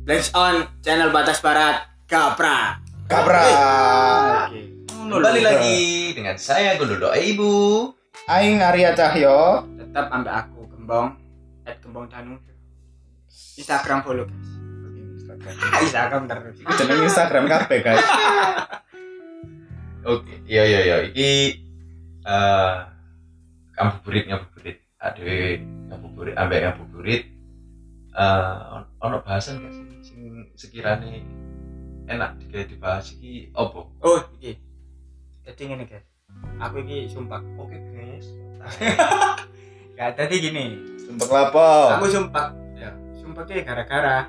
Black on channel Batas Barat Kapra. Kembali lagi dengan saya Gondodo Ibu. Aing Arya Cahyo. Tetap ambil aku Gembong @gembongdanu. Instagram follow guys. Instagram terus. Iku jeneng Instagram kabeh, guys. Oke, iya. Iki ngabuburit. Aduh, ngabuburit ambek ngabuburit. Ono bahasan gak sih sing sekirane enak dibahas iki opo? Oh, iki. Jadi ngene guys. Aku iki sumpah. Oke, guys. Ya, tadi gini. Sumpah lapo. Aku sumpah. Ya, sumpah ki gara-gara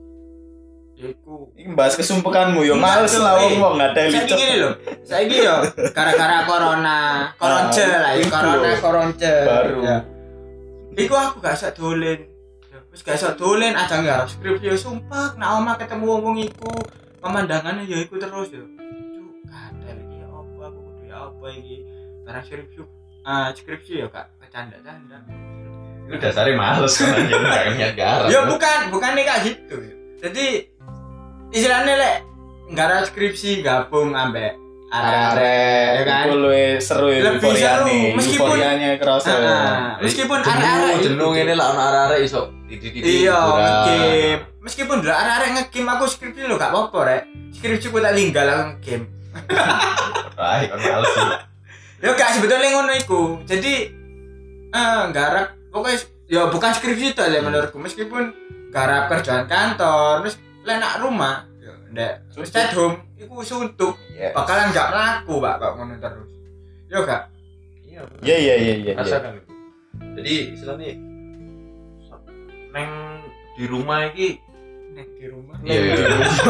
iku Iki bahas kesumpekanmu yo males lah wong enggak ada yang saiki ngene lho. Saiki yo gara-gara koronce lah, koronce. Baru. Ya. Iku aku gak iso dolen. Wis gak iso dolen aja ngarep skripsi yo sumpah nek omah ketemu wong iku pemandangannya ya iku terus yo. Cuk, kadal iki opo aku kudu apa iki. Karena skripsi yo gak bercanda-canda. Itu dasarnya males kan anjir enggak niat garap. Ya bukan kayak gitu. Jadi istilahnya lek nggak skripsi gabung ambek arek-arek ya kan Iku luwih seru ya Lebih seru, meskipun- euforianya kerasa. meskipun arek-arek jenuh ngene lah ono arek-arek iso titik-titik. iya game meskipun dulu arek-arek nge-game aku skripsi lo gak apa-apa rek skripsi ku tak linggal aku nge-game Baik, kan males sih. ya gak sebetulnya ngono iku jadi garap pokoknya ya bukan skripsi itu ya menurutku meskipun garap kerjaan kantor terus lenak rumah ya ndek stay home iku suntuk Yes. bakalan gak mlaku pak kok ngono terus yo gak Iya. Rasakan itu. Jadi istilahnya neng di rumah iki nek di rumah iya.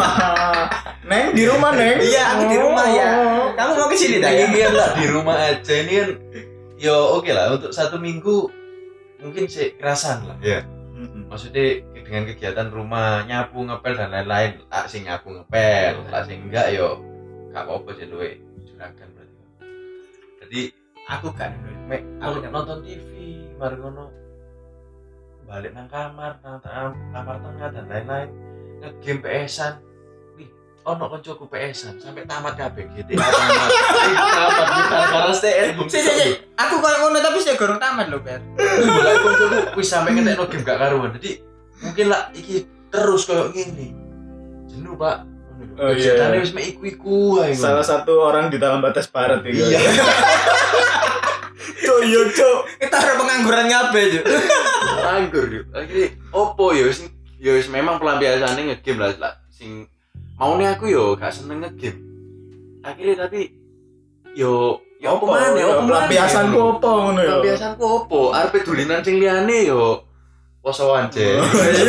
Neng di rumah, Neng. iya aku di rumah ya kamu mau ke sini tak ya Ini kan lah di rumah aja ini kan yo oke lah untuk 1 minggu mungkin sih kerasan lah ya. Maksudnya dengan kegiatan rumah nyapu ngepel dan lain-lain tak sing nyapu ngepel tak sing enggak yo gak apa-apa sih luwe juragan berarti. Jadi aku kan aku nonton TV mari ngono balik nang kamar nang kamar tengah dan lain-lain nge-game PS-an wih ono koncoku PS-an sampai tamat kabeh GTA tamat bukan karena stay at home si aku koyo ngono tapi saya gorong tamat lho Ber mulai koncoku wis sampai ngetekno game gak karuan jadi mungkin lah iki terus koyo ngene jenuh pak Oh, iya. ceritanya wis mek iku ae Salah satu orang di dalam batas barat ya. iya Cuk. kita harus pengangguran ngabe Cuk nganggur yuk akhirnya opo ya wis memang pelampiasannya nge-game lah sing maune aku yo gak seneng nge-game akhirnya tapi yo opo maneh Pelampiasanku opo ngono ya. pelampiasanku opo arep dulinan sing liyane yo posoan je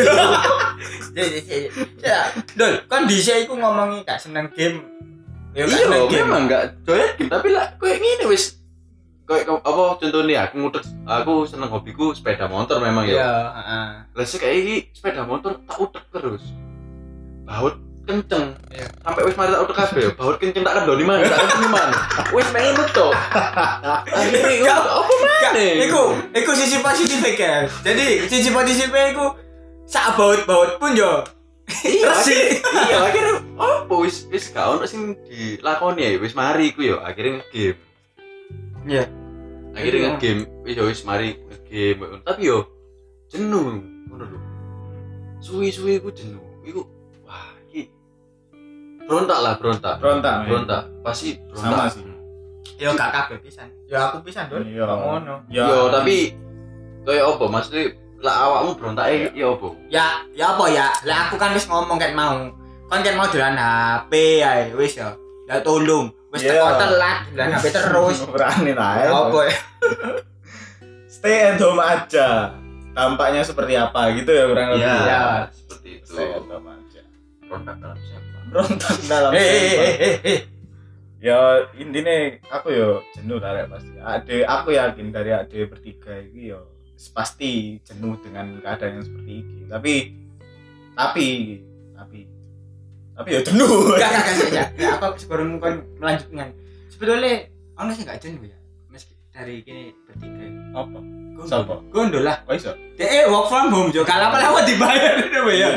ya dol kan dhisik iku ngomongi gak seneng game ya gak iya seneng game memang gak doyan game tapi lah koyo ngene wis koyo apa contohnya aku seneng hobiku sepeda motor memang ya iya heeh lah sih kayak iki sepeda motor tak utek terus baut kenceng Iya. sampai wis mari tak utek kabeh baut kenceng tak kendoni mana tak kendoni mana wis main betul akhirnya apa maneh iku sisi positif kan jadi sisi positifnya iku sak baut pun yo resik iya akhirnya apa wis gak ono sing dilakoni ya wis mari iku yo akhirnya nge-game iya akhirnya nge-game wis mari nge-game tapi yo jenuh ngono lho suwi-suwi iku jenuh iku wah iki berontak pasti Sama berontak sih. yo gak kabeh pisan yo aku pisan dol Iya. kok ngono yo tapi kayak apa maksudnya lah awakmu berontake ya apa ya apa ya lah aku kan wis ngomong kan mau dolan HP ae wis ya ya tolong wis Iya. teko telat dolan HP terus Berani lah ya. apa ya Stay at home aja. Tampaknya seperti apa gitu ya kurang lebih. Ya. seperti itu Stay at home aja. berontak dalam siapa Berontak dalam eh Ya intinya aku yo jenuh lah Rek, pasti. Aku yakin dari ade bertiga ini yo pasti jenuh dengan keadaan yang seperti ini. Tapi ya jenuh. Gak saja. Ya apa sebelum kan melanjutkan. Sebetulnya ono sih gak jenuh ya. Meski dari gini bertiga. Apa? Siapa? Gondol lah. Kok iso? Dek work from home jo. Kalau apa dibayar itu ya.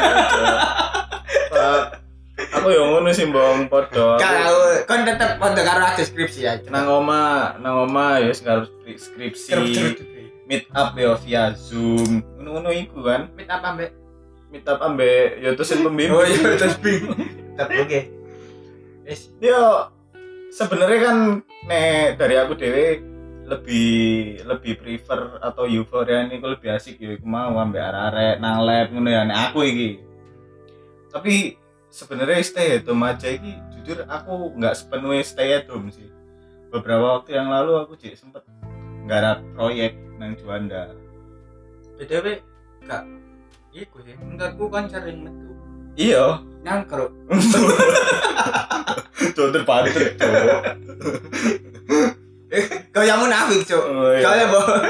Aku yo ngono sih mbong padha. Kalau kon tetep padha karo deskripsi ya. Nang oma ya karo skripsi. Meet up ya via Zoom. Ngono-ngono iku kan. Meet apa mbek? Meet up ambek ya dosen pembimbing. Oh iya terus bingung. Tetep oke. Wis Yo sebenarnya kan nek dari aku dewe lebih prefer atau euforia ini lebih asik ya iku mau ambek arek-arek nang lab ngono ya nek aku iki. Tapi sebenarnya stay at home aja iki jujur aku nggak sepenuhnya stay at home sih. Beberapa waktu yang lalu aku sempet nggarap proyek nang Juanda. BTW gak iku sih. Menurutku kan sering metu. Iya, Nangkruk. tuh terpatri. Kau yang munafik, Cuk. Oh, iya. Kau yang bohong.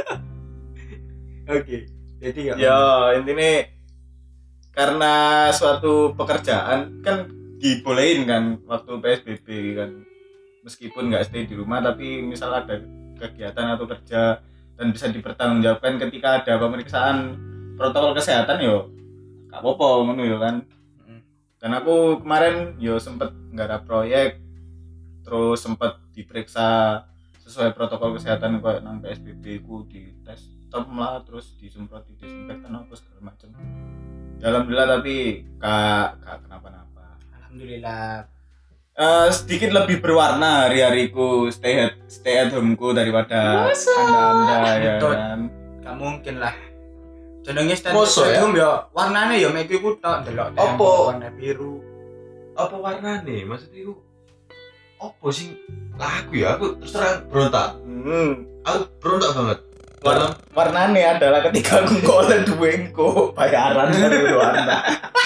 Oke. Jadi Ya intinya karena suatu pekerjaan kan dibolehin kan waktu PSBB kan meskipun nggak stay di rumah tapi misal ada kegiatan atau kerja dan bisa dipertanggungjawabkan ketika ada pemeriksaan protokol kesehatan yo gak apa-apa ngono yo kan. Dan aku kemarin yo sempet nggak ada proyek terus sempet diperiksa sesuai protokol kesehatan kayak nang PSBB ku di tes lah terus disemprot disinfektan apa segala macam. Ya, alhamdulillah tapi kak kenapa-napa. Alhamdulillah. Sedikit lebih berwarna hari-hariku stay at home ku daripada anda ya Betul. kan. Gak mungkin lah. Jenenge stand Mosok ya? home ya warnane ya mek iku tok delok Apa? tembok warna biru. Apa warnane? Maksudnya iku apa sih? Lah aku terus terang berontak. Aku berontak banget. Warnane adalah ketika aku ngolen duwengku bayaran dari warna.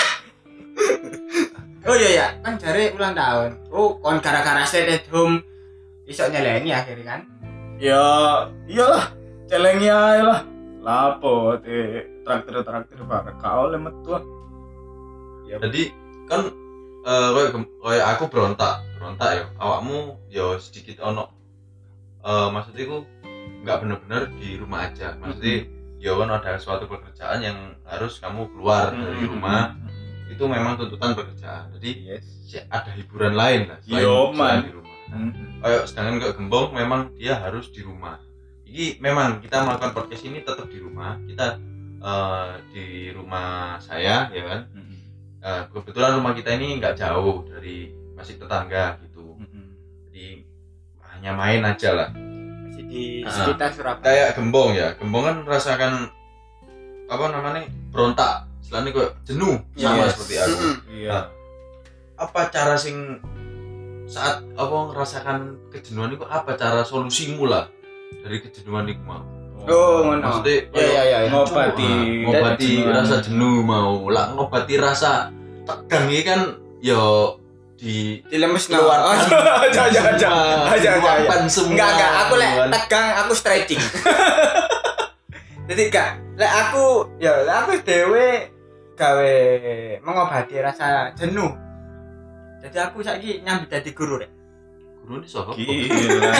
Oh iya ya, kan jare ulang tahun. Oh, kon gara-gara stay at home iso nyeleni akhirnya kan. Ya iyalah celengnya ae lah. Lapo traktir bareng kau oleh metu. Ya Jadi kan kayak aku berontak ya. Awakmu ya sedikit ono maksudnya iku nggak benar-benar di rumah aja. Maksudnya ya kan ada suatu pekerjaan yang harus kamu keluar dari rumah. Itu memang tuntutan pekerjaan. Jadi ada hiburan lain lah selain di rumah. Kayak sedangkan kayak Gembong memang dia harus di rumah. Ini memang kita melakukan podcast ini tetap di rumah. Kita di rumah saya ya kan. Kebetulan rumah kita ini nggak jauh dari masih tetangga gitu. Jadi hanya main aja lah. Masih di sekitar Surabaya. Kayak Gembong ya. Gembong kan merasakan apa namanya berontak. Selain itu jenuh sama seperti aku. Iya. Apa cara sing saat apa ngerasakan kejenuhan itu apa cara solusimu lah dari kejenuhan itu mau? Oh, ngono. Maksudnya Ya. Ngobati rasa jenuh mau lah ngobati rasa tegang ini kan yo dilemes keluarkan aja. semua. Enggak, aku lek tegang aku stretching. Jadi lek aku dhewe gawe mengobati rasa jenuh. Jadi aku saiki nyambi dadi guru rek. Guru ini sopo? Gila.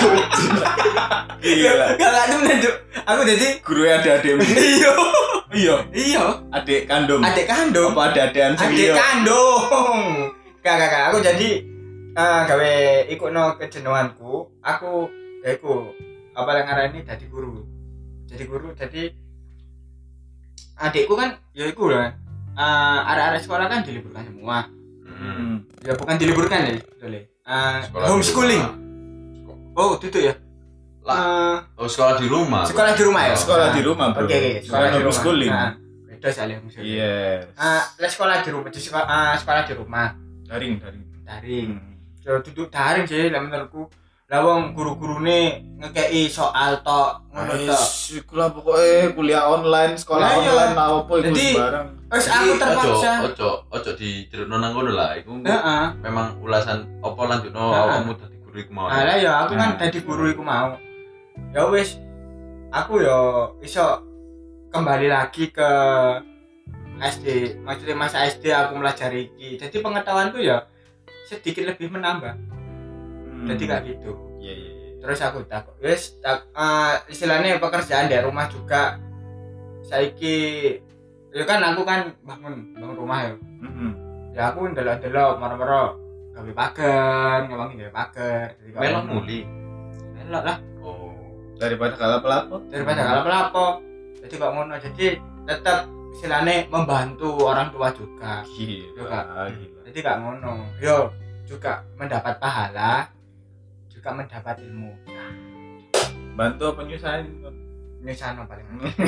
Enggak temen Cuk. Aku jadi Guru ada adik. Iya. Adik kandung. adik kandung. Apa ada adean Adik kandung. Kakak, aku jadi gawe ikutno kejenuhanku. Aku apa yang ngarani dadi guru. Jadi adikku kan ya iku lah. Arek-arek sekolah kan diliburkan semua. Ya bukan diliburkan ya, boleh. Homeschooling. Oh, itu ya. Sekolah di rumah. Sekolah di rumah ya. Sekolah di rumah, Bro. Oke, sekolah di rumah. Homeschooling. Beda soalnya homeschooling. Yes. Sekolah di rumah, sekolah di rumah. Daring. Ya duduk daring sih lah menurutku. Lah wong guru-gurune ngekeki soal tok ngono tok. Iku lah pokoknya kuliah online, sekolah Lah, iya. online lah apa iku Jadi, sembarang. Wes aku terpaksa. Ojo diceritakan nang ngono lah. Iku Heeh. memang ulasan apa lanjutno awakmu dadi guru iku mau. Lah ya aku kan dadi guru iku mau. Ya wis aku yo iso kembali lagi ke SD. Maksudnya masa SD aku melajari iki. Jadi pengetahuanku ya sedikit lebih menambah. Jadi kayak gitu. Iya. Terus aku takut istilahnya pekerjaan di rumah juga saiki ya kan aku kan bangun rumah ya. Ya aku ndelok-ndelok moro-moro gawe pagar, ngewangi gawe pagar. Melok muli. Melok lah Daripada kalah pelapor. Jadi kok ngono. Jadi tetap istilahnya membantu orang tua juga. Gila. Jadi gak ngono. Yo juga mendapat pahala, juga mendapat ilmu. Bantu apa nyusahin? Nyusahin paling.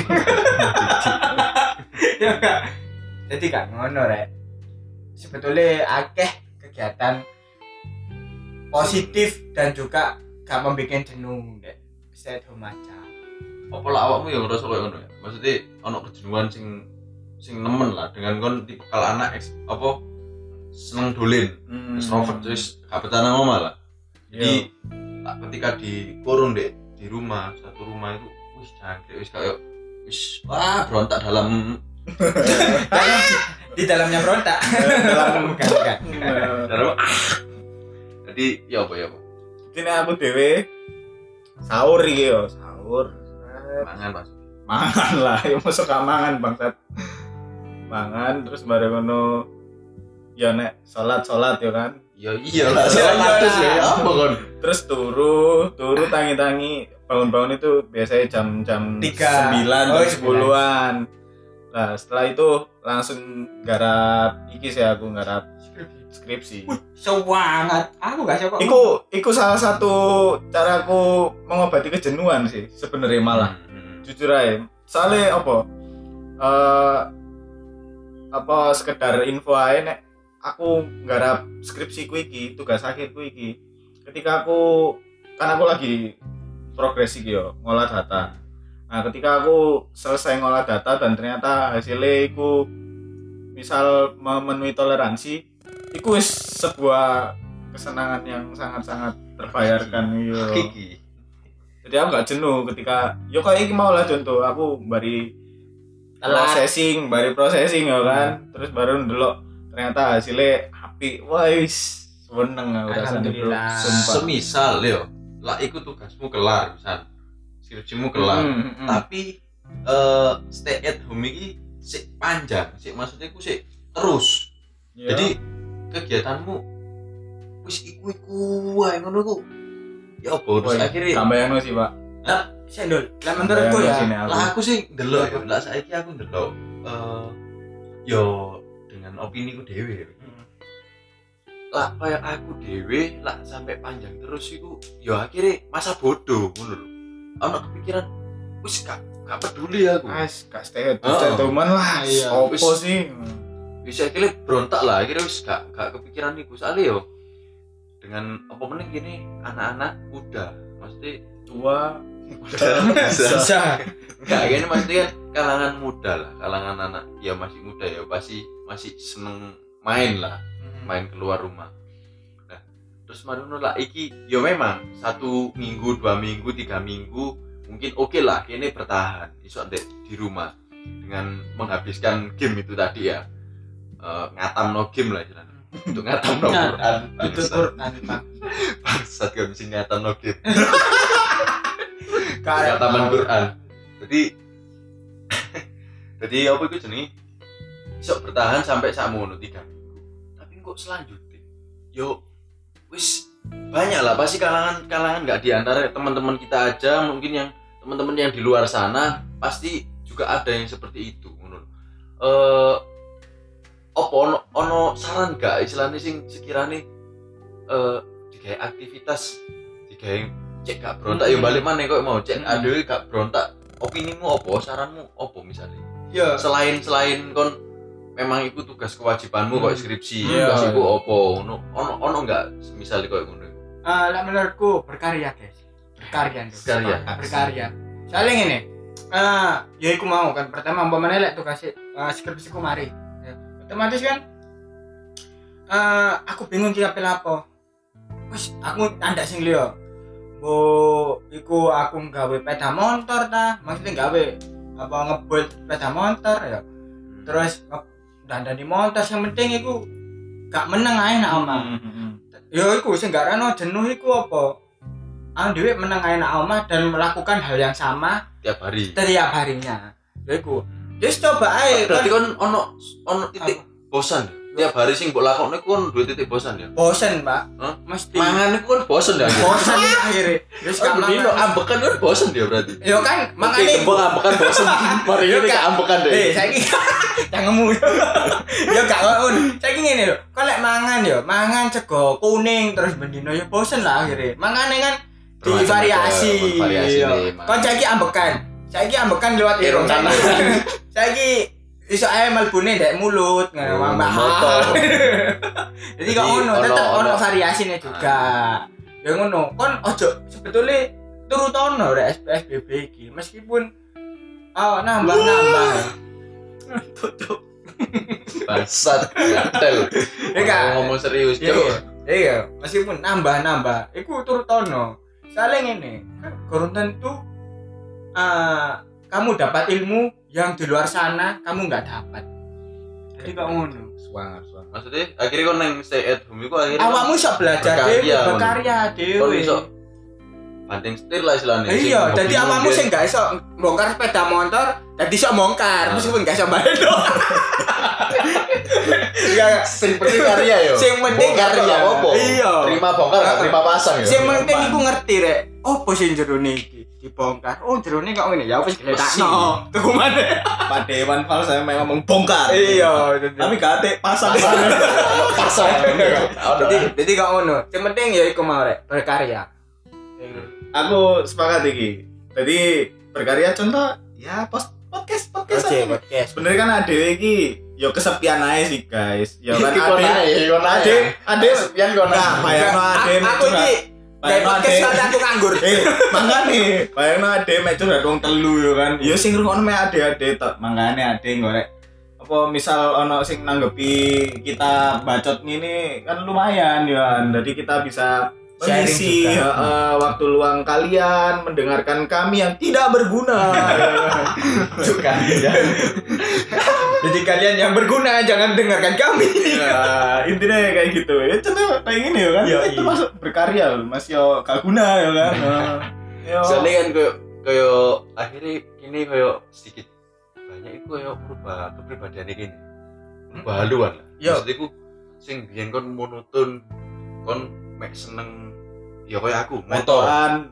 Ya gak. Jadi gak ngono rek. Sebetulnya akeh kegiatan positif dan juga gak membuat jenuh dek. Bisa remaja. Apa lah awakmu yang ngerasa kayak ngono ya? Maksudnya ono kejenuhan sing nemen lah dengan kon tipikal anak apa seneng dolen. Extrovert terus gak betah nang omah lah. Jadi ketika dikurung dek di rumah, satu rumah itu wis jangkrik wis kayak wis berontak dalam di dalamnya berontak. Bukan. dalam jadi ya apa Ini aku dewe sahur iki yo, sahur. mangan Mas. Mangan lah, yo mosok gak mangan bangsat. Mangan terus bareng ngono ya nek salat yo kan. Ya iyalah salat ya apa kon. Terus turu tangi-tangi bangun itu biasanya jam 9 jam 10-an. Nah, setelah itu langsung garap iki sih aku garap skripsi. Semangat. Aku gak suka. Iku salah satu caraku mengobati kejenuhan sih sebenarnya malah. Jujur aja. Soalnya apa sekedar info aja nek aku garap skripsiku iki, tugas akhirku iki. Ketika aku lagi progres iki yo, ngolah data. Nah, ketika aku selesai ngolah data dan ternyata hasilnya iku misal memenuhi toleransi, iku wis sebuah kesenangan yang sangat-sangat terbayarkan yo. Jadi aku gak jenuh ketika yo kayak iki mau lah contoh aku bari processing ya kan. Terus baru ndelok ternyata hasilnya apik. Wah, wis seneng aku rasane bro. Sumpah. Semisal yo, lah iku tugasmu kelar, misal skripsimu kelar. Tapi stay at home iki sik panjang, maksudnya ku sik terus. Yeah. Jadi kegiatanmu wis iku wae ngono ku. Ya apa terus akhirnya tambahan sih, Pak. Lah, sendol. Lah menurutku ya. Lah aku sih ndelok ya. Lah saiki aku ndelok yo dengan opini ku dhewe. Lah kayak aku dhewe lah sampai panjang terus iku yo akhirnya masa bodoh ngono lho. Ono kepikiran wis gak peduli aku. Wis gak stay teman lah. Opo sih? Bisa akhirnya berontak lah, akhirnya wis gak kepikiran iku soalnya yo dengan apa meneh gini anak-anak muda, maksudnya tua bisa. Enggak gini maksudnya kan kalangan muda lah, kalangan anak ya masih muda ya masih seneng main lah, main keluar rumah. Nah, terus marono lah iki yo memang 1 minggu, 2 minggu, 3 minggu mungkin oke lah kene bertahan iso di rumah dengan menghabiskan game itu tadi ya. Ngatamno game lah jalan. Untuk ngatamno Quran. Itu Quran, Pak. Bangsat gak bisa ngatamno game. Kayak Ngataman Quran. Jadi apa itu jenenge? Iso bertahan sampai sakmono 3 minggu. Tapi kok selanjutnya yo wis banyak lah pasti kalangan enggak di antara teman-teman kita aja, mungkin yang teman-teman yang di luar sana pasti juga ada yang seperti itu ngono. Apa ono saran gak istilahnya sing sekiranya digawe aktivitas digawe cek gak berontak ya balik mana kok mau cek adewe gak berontak, opinimu apa, saranmu apa misalnya ya selain kon memang itu tugas kewajibanmu kok skripsi tugas iku apa ono enggak misalnya kok ngono lah menurutku berkarya guys, berkarya soalnya ngene ya iku mau kan pertama umpamane lek tugas skripsiku mari otomatis kan aku bingung ki apel apa wis aku andak sing liya iku aku nggawe sepeda motor ta maksudnya nggawe apa ngebuild sepeda motor ya terus dandani motor yang penting iku gak meneng ae nak omah ya iku sing gak rano jenuh iku apa aku dhewe meneng ae nang omah dan melakukan hal yang sama tiap hari. setiap harinya. Ya iku. Wis coba ae. Berarti kan ono titik bosan. Tiap hari sing mbok lakokne ku kan duwe titik bosan ya. Bosen, Pak. Hah? Mesti. Mangan iku kan bosan ya. Bosen akhirnya. Wis gak Dino mangan. ambekan kan bosan dia berarti. Yo kan Oke, mangane. tembok ambekan bosan. Mari Yo, ini Kak. ke ambekan deh. Saiki cangemu. Yo gak ngono. Saiki ngene lho. Kok lek mangan sego kuning terus bendino yo bosen lah akhirnya. Mangane kan divariasi. Variasi Yo. nih. Kon saiki ambekan. Saiki ambekan lewat irung kanan. Saiki iso ae mlebune ndek mulut ngono Oh, Mbak. motor. Jadi kok ngono, Jadi, tetep ono- ono variasine juga. Ya ngono, kon ojo sebetulnya turutono rek PSBB iki meskipun nambah-nambah. Tutup. Bangsat, gatel. Ya gak? Ngomong serius, Iya, Cuk. iya, meskipun nambah-nambah, iku turutono. Soalnya ngene, kan kurang tentu kamu dapat ilmu yang di luar sana kamu nggak dapat. Jadi kok ngono. Suangar. Maksudnya akhirnya kau neng stay at home itu akhirnya Awakmu iso belajar berkarya, dhewe, berkarya kau dhewe. iso banting setir lah istilahnya. Iya, jadi awakmu sing gak iso bongkar sepeda motor, dadi iso bongkar meskipun gak iso bayar. Ya, sing penting karya yo. sing penting Bongkar karya. gak apa-apa. Iya. Terima bongkar gak terima pasang ya. Sing penting iku ngerti rek. Opo sing jerone iki dibongkar? Oh, jerone kok ngene ya wis geletakno. Tuku maneh. Pak Dewan Fal saya memang membongkar. Iya, Tapi gak ada pasang. Pasang. jadi kok ngono. Sing penting ya iku mau rek, berkarya. Aku sepakat iki. Jadi berkarya contoh ya podcast Oke, aja. podcast. Sebenarnya kan ade iki yo kesepian aja sih guys. Ya kan Iki ade sepian kau nah, bayangno ade Aku iki kayak podcast kali aku nganggur. Makane bayangno ade mek curhat wong telu yo kan. Ya sing ngrungokno mek ade tok. Mangane ade ngorek apa misal ono sing nanggepi kita bacot ngene kan lumayan ya. Jadi kita bisa Sharing mengisi juga. waktu luang kalian mendengarkan kami yang tidak berguna. Juga ya. Jadi kalian yang berguna jangan dengarkan kami. Ya, intinya kayak gitu. Ya contoh kayak gini ya kan. Iya, Itu iya. masuk berkarya loh, Mas yo gak guna ya kan. Yo. Soalnya kan kayak akhirnya ini kayak sedikit banyak itu kayak berubah kepribadian ini. Berubah haluan lah. Yo. Maksudnya aku sing biyen kon monoton kon mek seneng ya kayak aku motor. Motoran.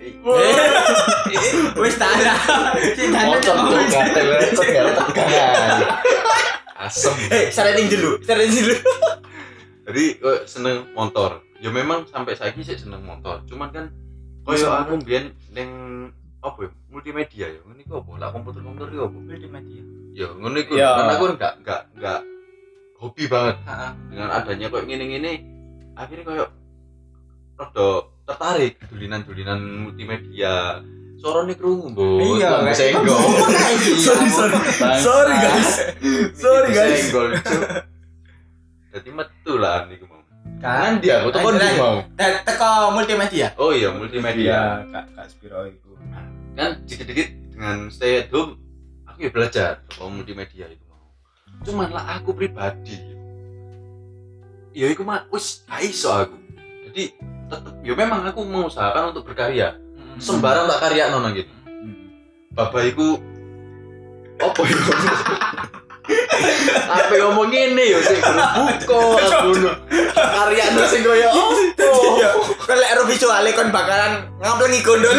Wis tak ada. Motor tuh gatel tegangan. Asem. Saraning dulu. Jadi seneng motor. Ya memang sampai saiki sih seneng motor. Cuman kan koyo aku biyen ning apa ya? Multimedia ya. Ngene iku apa? Lah komputer iki apa? Multimedia. Ya ngono iku. Ya. Karena aku enggak hobi banget Heeh. dengan adanya koyo ngene-ngene. Akhirnya koyo rada tertarik dulinan multimedia. Sorone krungu, Mbok. Iya, Bang guys. senggol. Sorry guys. Sorry guys. Senggol, Cuk. Dadi metu lah niku mau. Kan Dia aku tekan di mau. teko multimedia. Oh iya, multimedia. Iya, Kak Spiro itu. Kan dikit-dikit dengan stay at home aku ya belajar soal multimedia itu mau. Cuman lah aku pribadi ya iku mah wis gak iso aku. Jadi tetep ya memang aku mengusahakan untuk berkarya. Sembarang tak karya nang gitu. Bapak iku apa iku? Apa ngomong ngene ya sing buka aku karyane sing koyo opo. Iya, kalau ero visuale kon bakalan ngaplengi gondol.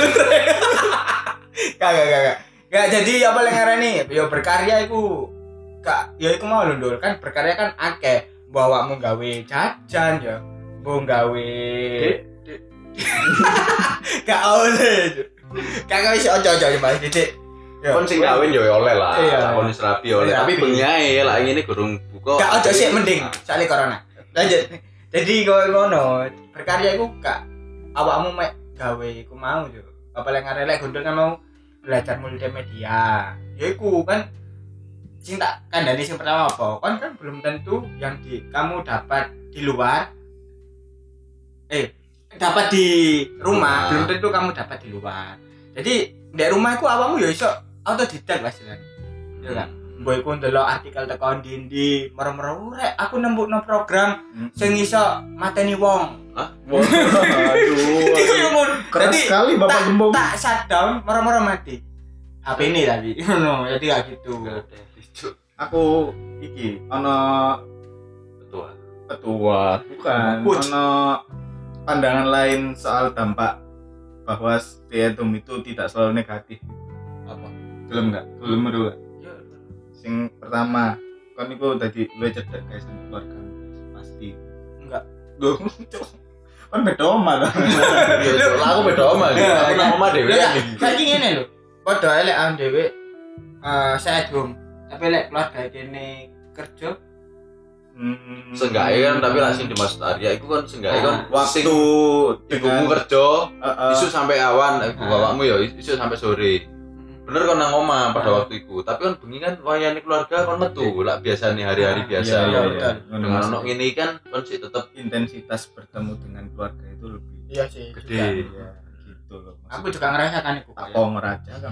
Kagak. Gak jadi apa yang ngarani? Yo berkarya iku gak ya iku mau lho Ndul. Kan berkarya kan akeh. Bawa mau gawe jajan ya. Mau gawe gak oleh. Kagak wis ojo-ojo Mas Didik. Kon sing kawin ya oleh lah. Iya. Kon wis rapi oleh. Rapi. Tapi bengi ae lah ngene gurung buka. Gak ojo sih mending soalnya corona. Lanjut. Jadi kowe ngono, berkarya iku gak awakmu mek gawe iku mau yo. Apa yang ngarelek gondol kan mau belajar multimedia. Ya iku kan sing tak kandhani sing pertama apa? Kan belum tentu yang kamu dapat di luar dapat di rumah, belum tentu kamu dapat di luar. Jadi di rumah iku awakmu ya iso autodidak lah istilahnya. Ya kan? Mbok iku ndelok artikel teko ndi merem-merem rek aku nembukno program sing iso mateni wong. Hah? Aduh. Iku yo mun. Keras Jadi, sekali Bapak Gembong. Tak shutdown merem-merem mati. HP ini tadi. Ngono, jadi gak gitu. Enggak ada lucu. Aku iki ana ketua bukan Coach. ana pandangan lain soal dampak bahwa stay at home itu tidak selalu negatif. Apa? Gelem enggak? Gelem dulu. Ya, Sing pertama, kan iku dadi luwih cedek guys sama keluarga pasti. enggak. Loh, kan beda omah ta. Ya, lah aku beda omah iki. Aku nang omah dhewe iki. Saiki ngene lho. Padha elek am dhewe stay at home. Tapi lek keluarga kene kerja Seenggaknya kan tapi lah sing dimaksud Arya itu kan seenggaknya kan waktu ibumu kerja isu sampai awan bapakmu ya isu sampai sore. Bener kan nang omah pada waktu itu. Tapi kan bengi kan wayane keluarga kan metu lah biasane hari-hari biasa. Iya, betul. Dengan ono ngene kan sih tetep intensitas bertemu dengan keluarga itu lebih iya sih. gede. ya, gitu loh. Aku juga ngerasakan itu. apa ngeraja kan.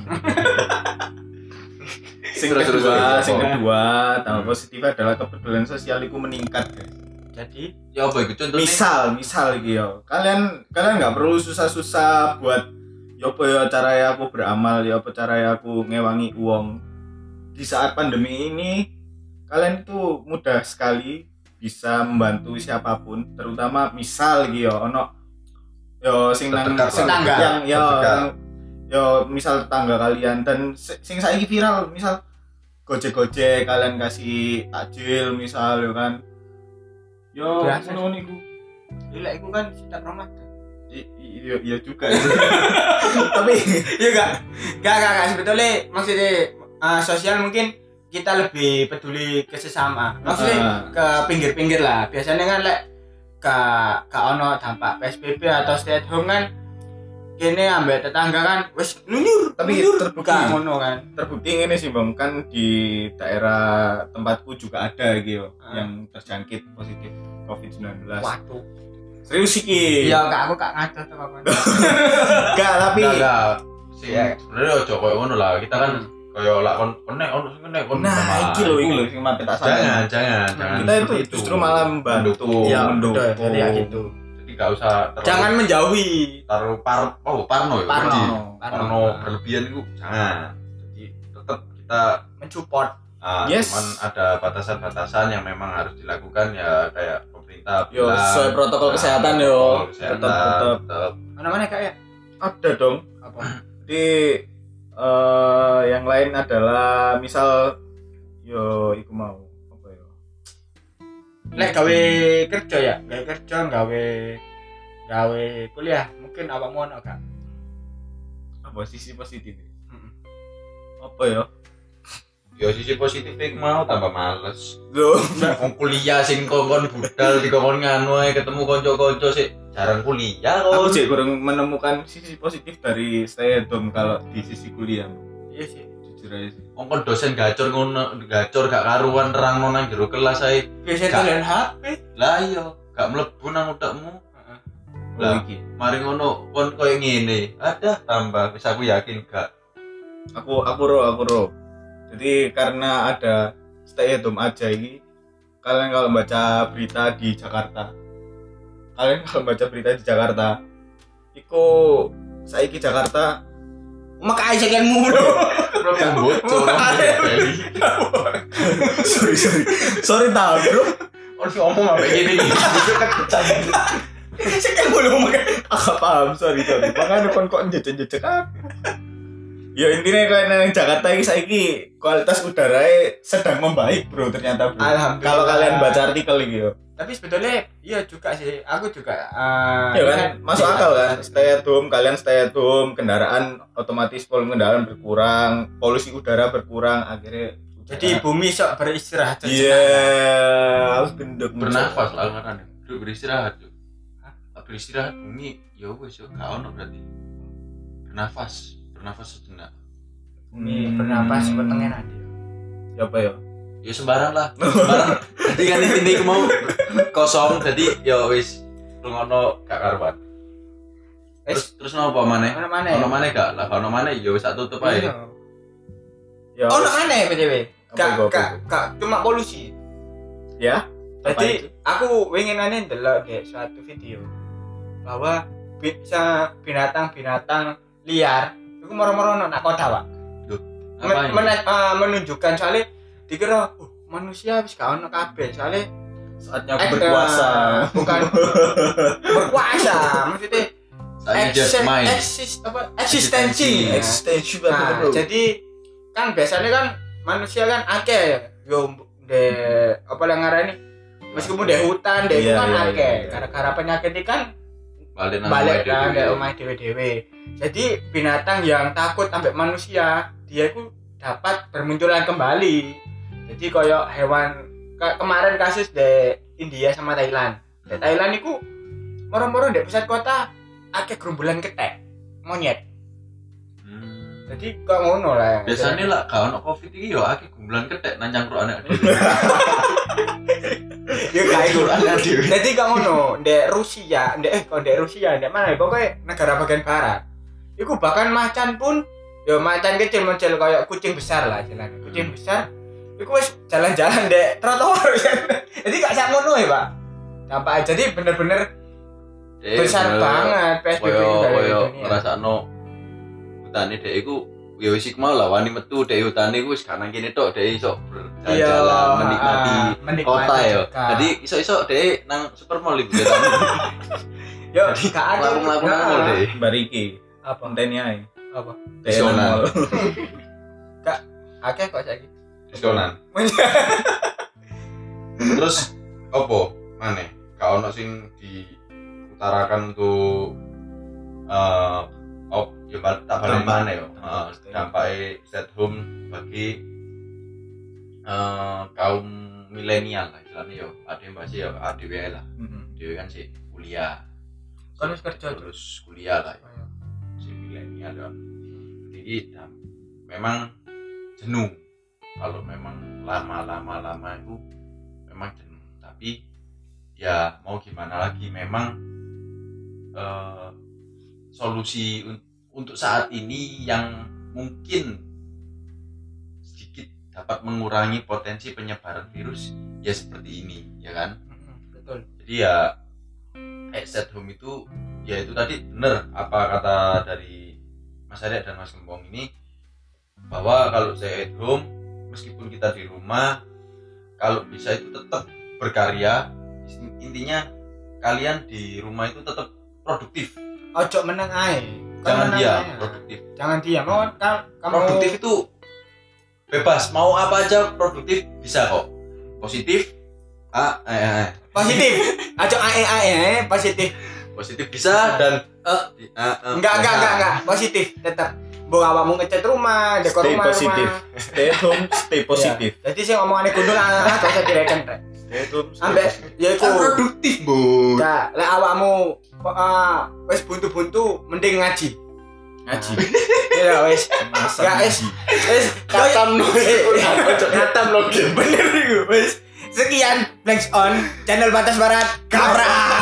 Sing Terus, kedua, tambah positifnya adalah kepedulian sosial itu meningkat, guys. Jadi Ya apa itu contohnya? Misal iki yo. Kalian nggak perlu susah-susah buat yo apa ya cara aku beramal, yo apa cara aku ngewangi uang. Di saat pandemi ini kalian itu mudah sekali bisa membantu siapapun, terutama misal iki yo ono yo sing nang Terdekat sing lah. yang Terdekat. yo misal tetangga kalian dan sing saiki viral misal Gojek kalian kasih takjil misal yo kan. Yo Biasa. ngono niku. lek iku kan setiap Ramadan. Iya juga. Tapi Enggak sebetulnya maksudnya sosial mungkin kita lebih peduli ke sesama. Maksudnya ke pinggir-pinggir lah. Biasanya kan lek ke ono dampak PSBB atau stay at home kan kene ambek tetangga kan wis nunyur Tapi nunyur. terbukti. Bukan ngono kan. terbukti ini sih Bang, kan di daerah tempatku juga ada gitu yang terjangkit positif COVID-19. Waduh. Serius iki. Iya kak aku kak ngaco tuh kapan. Enggak, tapi Enggak. Sing Iya. sebenarnya ojo koyo ngono lah. Kita kan koyo lak kon konek ono sing kene kon. nah iki lho sing mati tak sampe. Jangan. Kita itu seperti justru malah membantu, Iya, mendukung. betul. Jadi ya gitu. Jadi enggak usah terlalu Jangan menjauhi. taruh parno ya. Parno. Jadi, Parno berlebihan itu jangan. Jadi tetap kita Mensupport. Yes. cuman ada batasan-batasan yang memang harus dilakukan ya kayak pemerintah Yo, bilang. sesuai protokol kesehatan, yo. protokol kesehatan, Tetap. tetap. Mana kak ya? Ada dong. Apa? Jadi yang lain adalah misal yo iku mau apa ya? Lek gawe kerja ya, gawe kuliah, mungkin awakmu ono gak? Apa sisi positif? Mm-mm. Apa ya? Ya sisi positifnya mau tambah males. Loh, Wong kuliah sing kongkon budal dikongkon nganu ae ketemu kanca-kanca sik jarang kuliah aku kok. sih kurang menemukan sisi positif dari stay at home kalau di sisi kuliah. Iya sih. Jujur aja sih. Wong dosen gacor ngono, gacor gak karuan nerangno nang jero kelas ae. Biasa Gak. tulen HP. Lah iya, gak mlebu nang utekmu. Lah. Iki. Mari ngono kon koyo ngene. Ada tambah wis aku yakin gak. Aku ro. Jadi karena ada stay at home aja ini, kalian kalau baca berita di Jakarta, iku saiki Jakarta Makai sekian mulu. Program bocor. sorry tahu bro. Ono ngomong apa gini iki. Bocor kecah. Sekian mulu makai. Agak paham, sorry. Makanya kon kok jejak aku. Ya intinya kalian yang Jakarta ini saiki kualitas udaranya sedang membaik bro ternyata bro. Alhamdulillah. Kalau kalian baca artikel ini yo. Tapi sebetulnya iya juga sih. Aku juga Ya kan masuk akal kan. Stay at home, kalian stay at home, kendaraan otomatis volume kendaraan berkurang, polusi udara berkurang, akhirnya jadi bumi sok beristirahat. iya, harus gendek Bernafas lah kan. Beristirahat. Beristirahat bumi ya wis yo gak ono berarti. Bernafas sejenak. Bumi bernapas petengnya nanti. Ya apa ya? Ya sembarang lah. Sembarang. Jadi kan ini aku mau kosong jadi ya wis lungono gak karuan. Terus nopo maneh? Mana? Ono maneh gak? Lah ono maneh ya wis tak tutup ae. Ya Oh, mana BTW? Gak cuma polusi. Ya. Jadi aku winginane ndelok di suatu video bahwa bisa binatang-binatang liar itu moro-moro nak kota, Pak. Menunjukkan soalnya dikira manusia wis gak ono kabeh soalnya saatnya aku berkuasa. Bukan berkuasa, maksudnya eksistensi. Nah, jadi kan biasanya kan manusia kan akeh yo apa yang ngarani meskipun di hutan itu kan akeh gara-gara penyakit ini kan balik lah di omah dewe-dewe. Jadi binatang yang takut sampai manusia dia itu dapat bermunculan kembali. Jadi koyo hewan kemarin kasus di India sama Thailand. Di Thailand itu moro-moro di pusat kota akeh gerombolan ketek monyet. Jadi kok ngono lah. Biasanya lah kalau Covid iki yo akeh gerombolan ketek nang cangkruk anak dhewe. Ya kayak gitu. Jadi kok ngono, di Rusia, di mana? Pokoknya negara bagian barat. Iku bahkan macan pun yo macan kecil-kecil kayak kucing besar lah jalan. Kucing besar iku wis jalan-jalan di trotoar. Jadi gak sak ngono ya, Pak. Dampak jadi bener-bener besar banget PSBB dari dunia. Ngrasakno hutane dhek iku ya wis iku mau lah wani metu dhek hutane iku wis gak nang kene tok dhek iso berjalan menikmati kota ya. Jadi iso-iso dhek nang supermall iku ketemu. Yo gak ada laku nang dhek. Bariki. Apa kontene ae? Apa? Diskonan. Kak, akeh kok saiki. Diskonan. Terus opo maneh? Gak ono sing diutarakan untuk ya tak balik mana ya dampaknya stay at home bagi kaum milenial lah istilahnya ya ada yang masih ya ADW lah dia kan sih kuliah kan harus kerja terus kuliah lah ya. Si milenial kan jadi memang jenuh kalau memang lama itu memang jenuh tapi ya mau gimana lagi memang solusi untuk saat ini yang mungkin sedikit dapat mengurangi potensi penyebaran virus ya seperti ini ya kan betul. Jadi ya stay at home itu ya itu tadi benar apa kata dari Mas Arya dan Mas Gembong ini bahwa kalau stay at home meskipun kita di rumah kalau bisa itu tetap berkarya intinya kalian di rumah itu tetap produktif. Ojo meneng ae. Jangan diam, produktif. Jangan diam. Kamu produktif itu bebas, mau apa aja produktif bisa kok. Positif. Positif. Ojo positif. Positif bisa dan enggak. Positif tetap. Mbok awakmu ngecat rumah, dekor rumah. Positif. Stay home, stay positif. Jadi sing omongane gundul gak usah direken rek. Stay home. Ambek ya iku produktif, Bu. Enggak, lek awakmu wis buntu-buntu mending ngaji. Ya wis. Ya wis katam lo. Bener iku wis. Sekian Blanks On channel Batas Barat. Kaprak.